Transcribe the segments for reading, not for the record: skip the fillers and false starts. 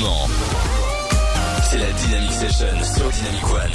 moment. C'est la Dynamic Session sur Dynamic One.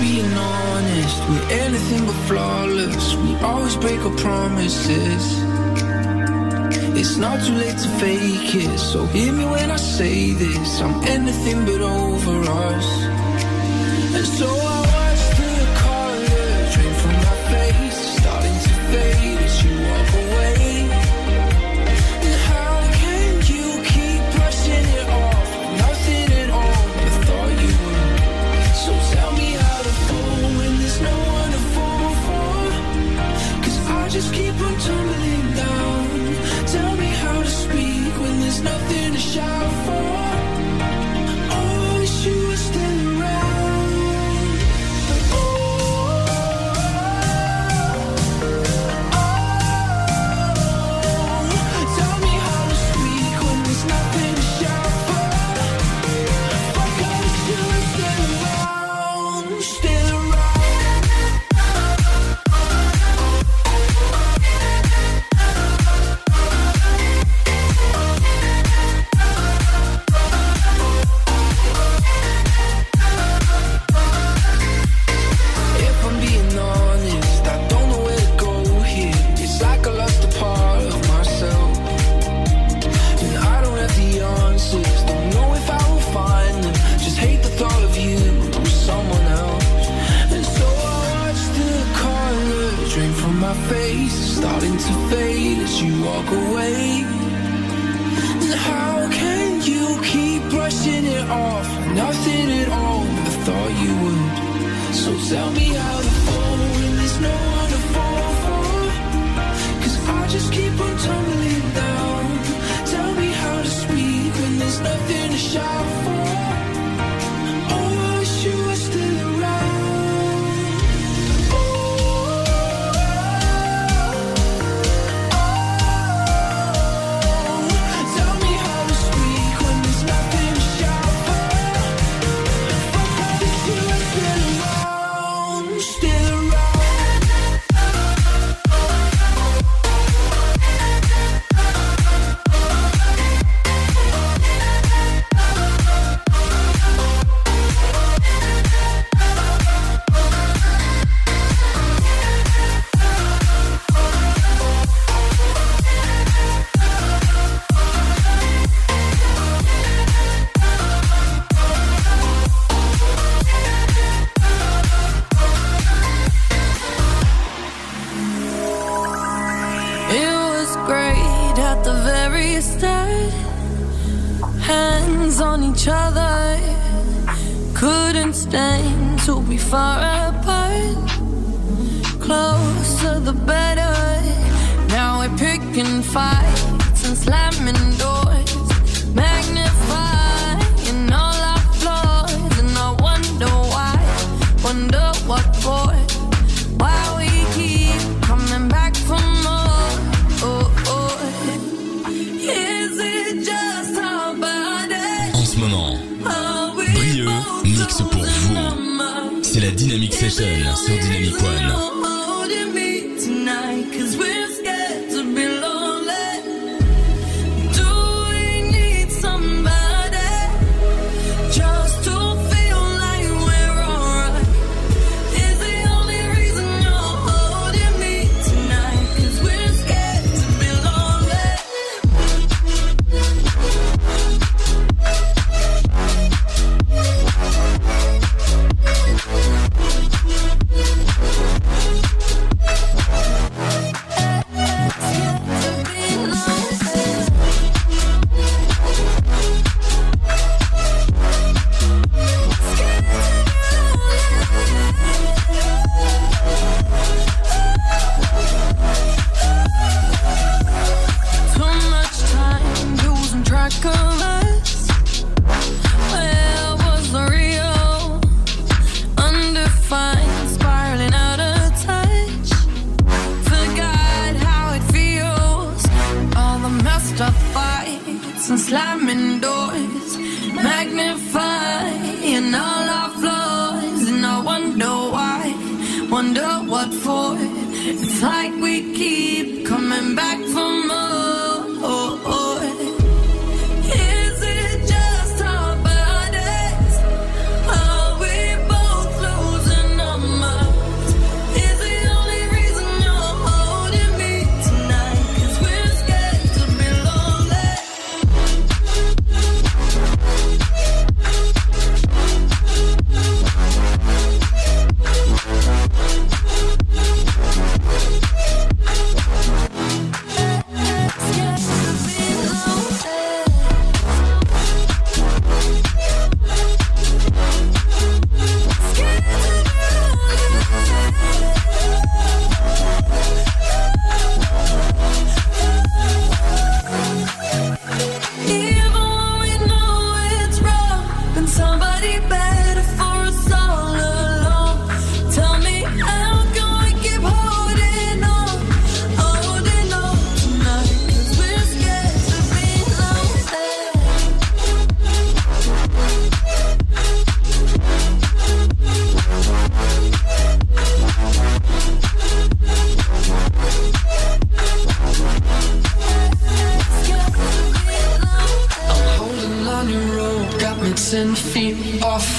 being honest, we're anything but flawless. We always break our promises. It's not too late to fake it, so hear me when I say this. I'm anything but over us. And so I watch the color drain from my face, starting to fade as you walk away. And how can you keep brushing it off? Nothing at all, I thought you would. So tell me how to fall when there's no one to fall for. 'Cause I just keep on tumbling down. Tell me how to speak when there's nothing to shout for. Oh, I wish you were still around. Oh, tell me how to speak when there's nothing to shout for. Fuck, I wish you were still around, still around. If I'm being honest, I don't know where to go here. It's like I lost a part of myself, and I don't have the answers. Don't know if I will find them. Just hate the thought of you with someone else. And so I watch the color drain from my face, starting to fade as you walk away. And how can you keep brushing it off? Nothing at all, I thought you would. So tell me how to fall when there's no one to fall for. 'Cause I just keep on tumbling down. Tell me how to speak when there's nothing to shout for. Oh, I wish you were still around. Oh, tell me how to speak when there's nothing to shout for. Fuck, I wish you were still around, still around. It was great at the very start. Hands on each other, couldn't stand to be far apart. Closer the better. Now we're picking fights and slamming doors, magnifying all our flaws. And I wonder why, wonder what for. Why we keep coming back for more. Oh, oh. Is it just our bodies? En ce moment, Brieux mixe pour vous. C'est la Dynamic Session sur Dynamic One. Holding me tonight, 'cause we're scared to be lonely. Do we need somebody just to feel like we're alright? Is the only reason you're holding me tonight, 'cause we're scared to be lonely. Too much time losing track of us. Where was the real? Undefined, spiraling out of touch. Forgot how it feels. All the messed up fights and slamming doors, magnifying all our flaws. And I wonder why, wonder what for. It's like we keep coming back for more. Is it just our bodies? Are we both losing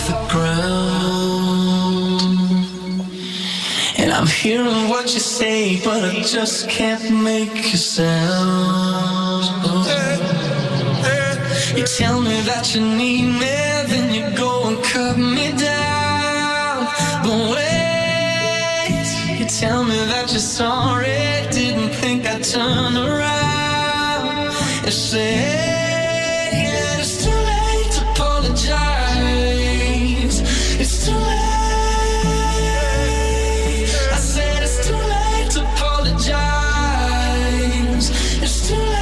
off the ground. And I'm hearing what you say, but I just can't make a sound. You tell me that you need me, then you go and cut me down. But wait, you tell me that you're sorry, didn't think I'd turn around and say that it's too late to apologize. It's too late. I said it's too late to apologize. It's too late.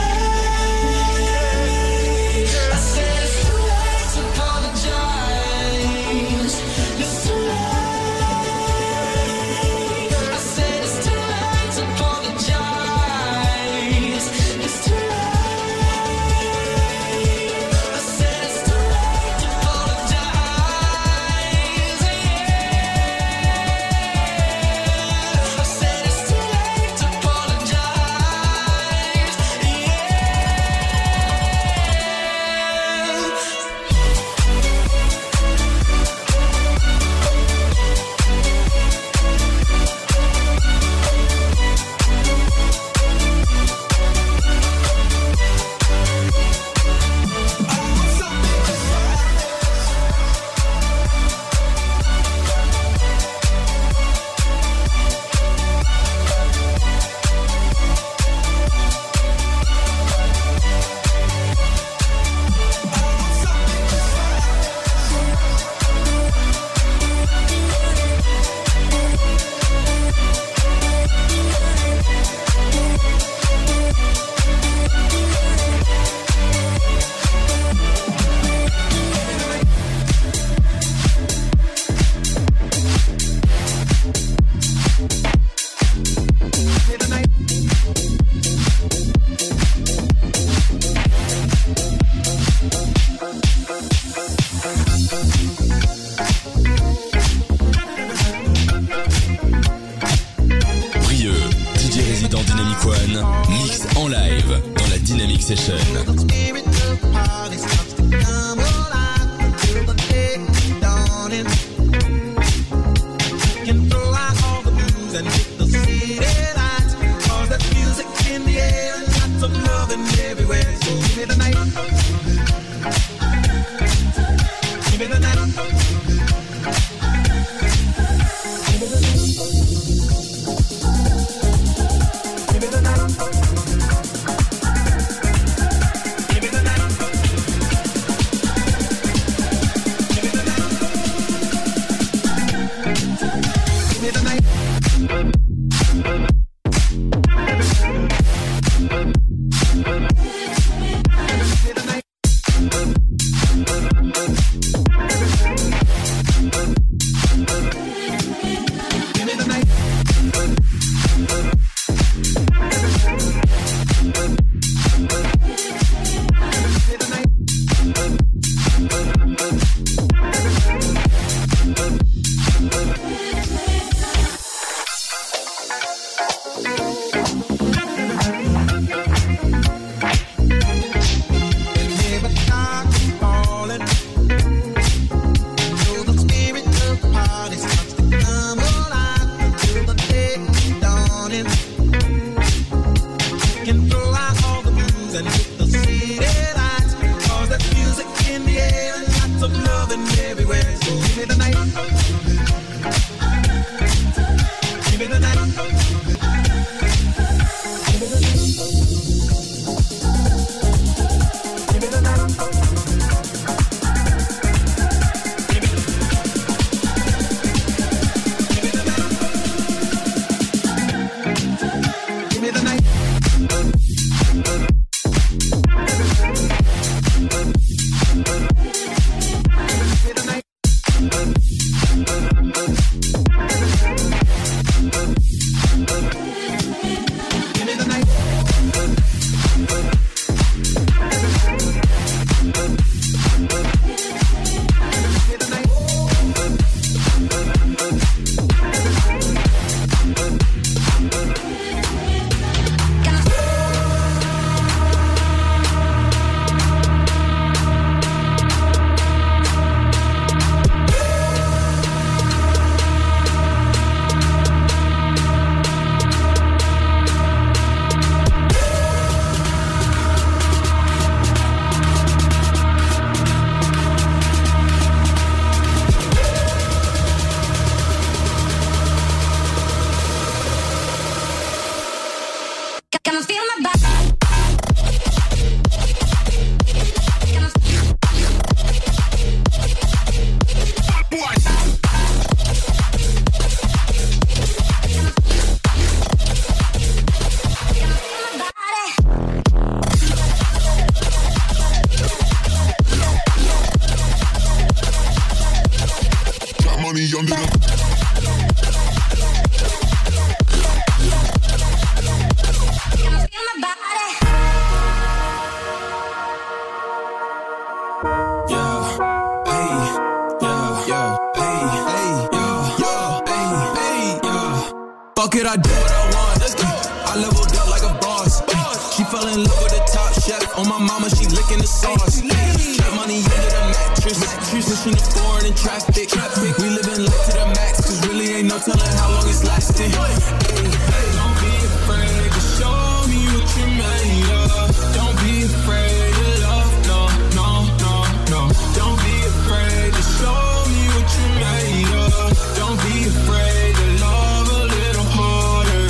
Fuck it, I do what I want. Let's go. I leveled up like a boss. She fell in love with the top chef. On my mama, she licking the sauce. Trap money under the mattress. Pushing the foreign in traffic. We living life to the max, cause really ain't no telling how long it's lasting. Don't be afraid to show me what you're made of. Don't be afraid to love, no, no, no, no. Don't be afraid to show me what you're made of. Don't be afraid to love a little harder.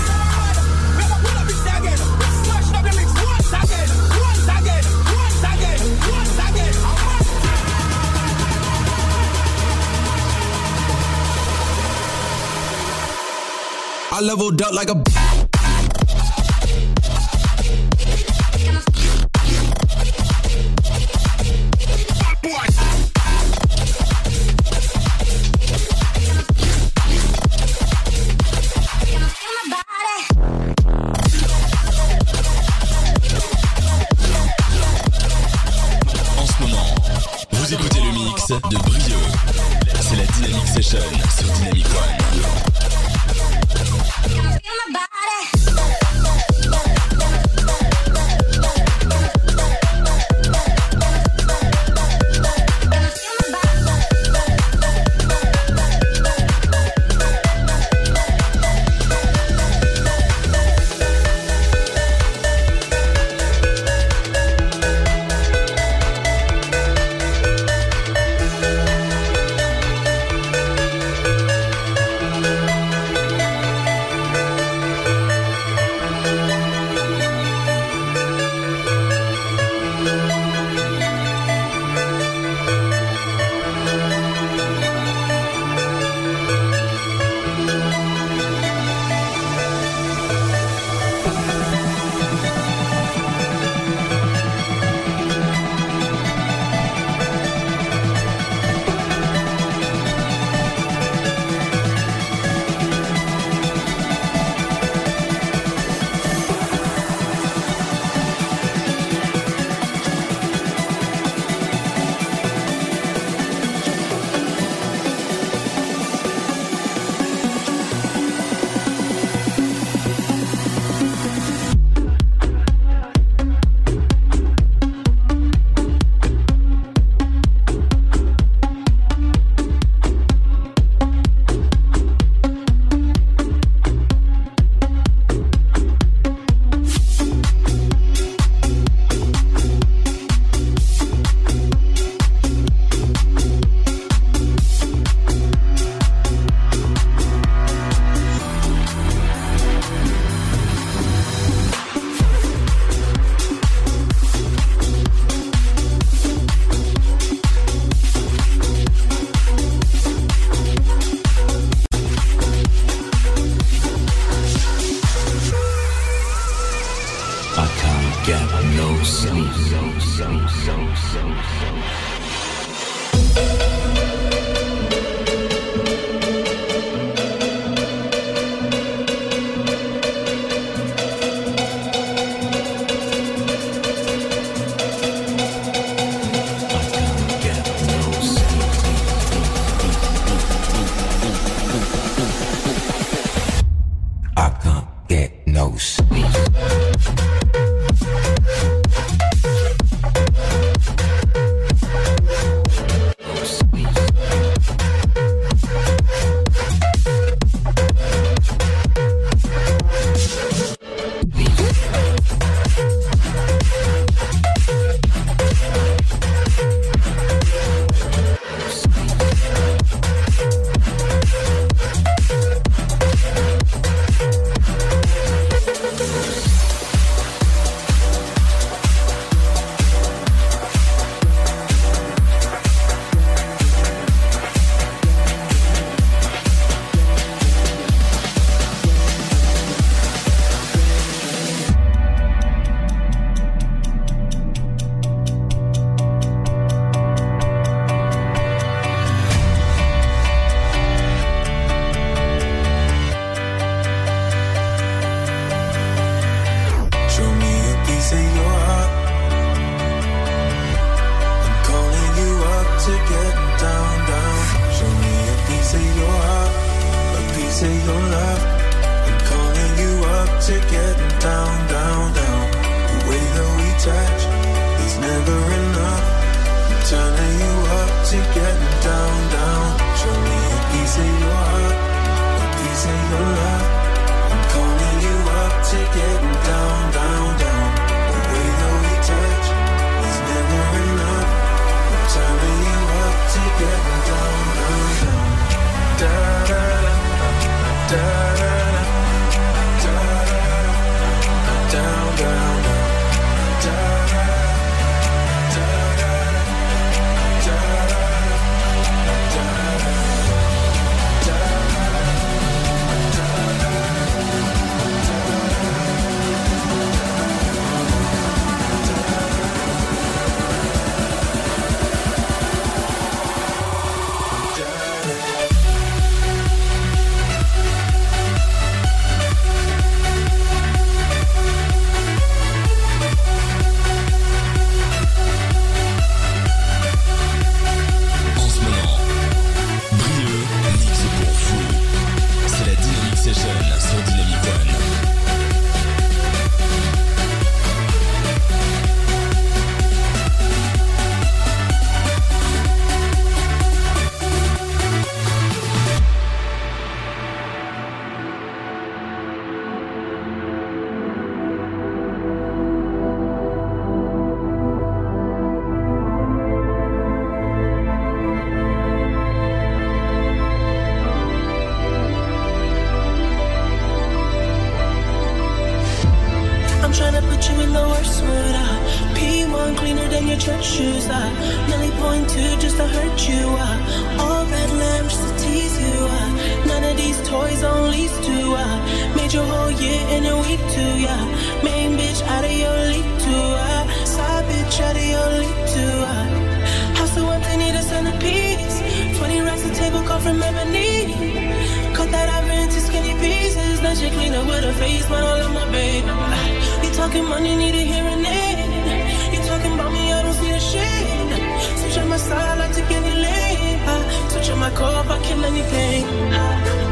I leveled up like a de Brieux. C'est la Dynamic Session sur Dynamic One. of your love. up to getting down, down, down. The way that we touch is never enough. I'm turning you up to getting down, down. Show me a piece of your heart, a piece of your love. I'm calling you up to getting down, down, down. The way that we touch is never enough. I'm turning you up to getting down, down, down. Da da da da da da da down, down, down. Da da da da da Switch on my core if I kill anything.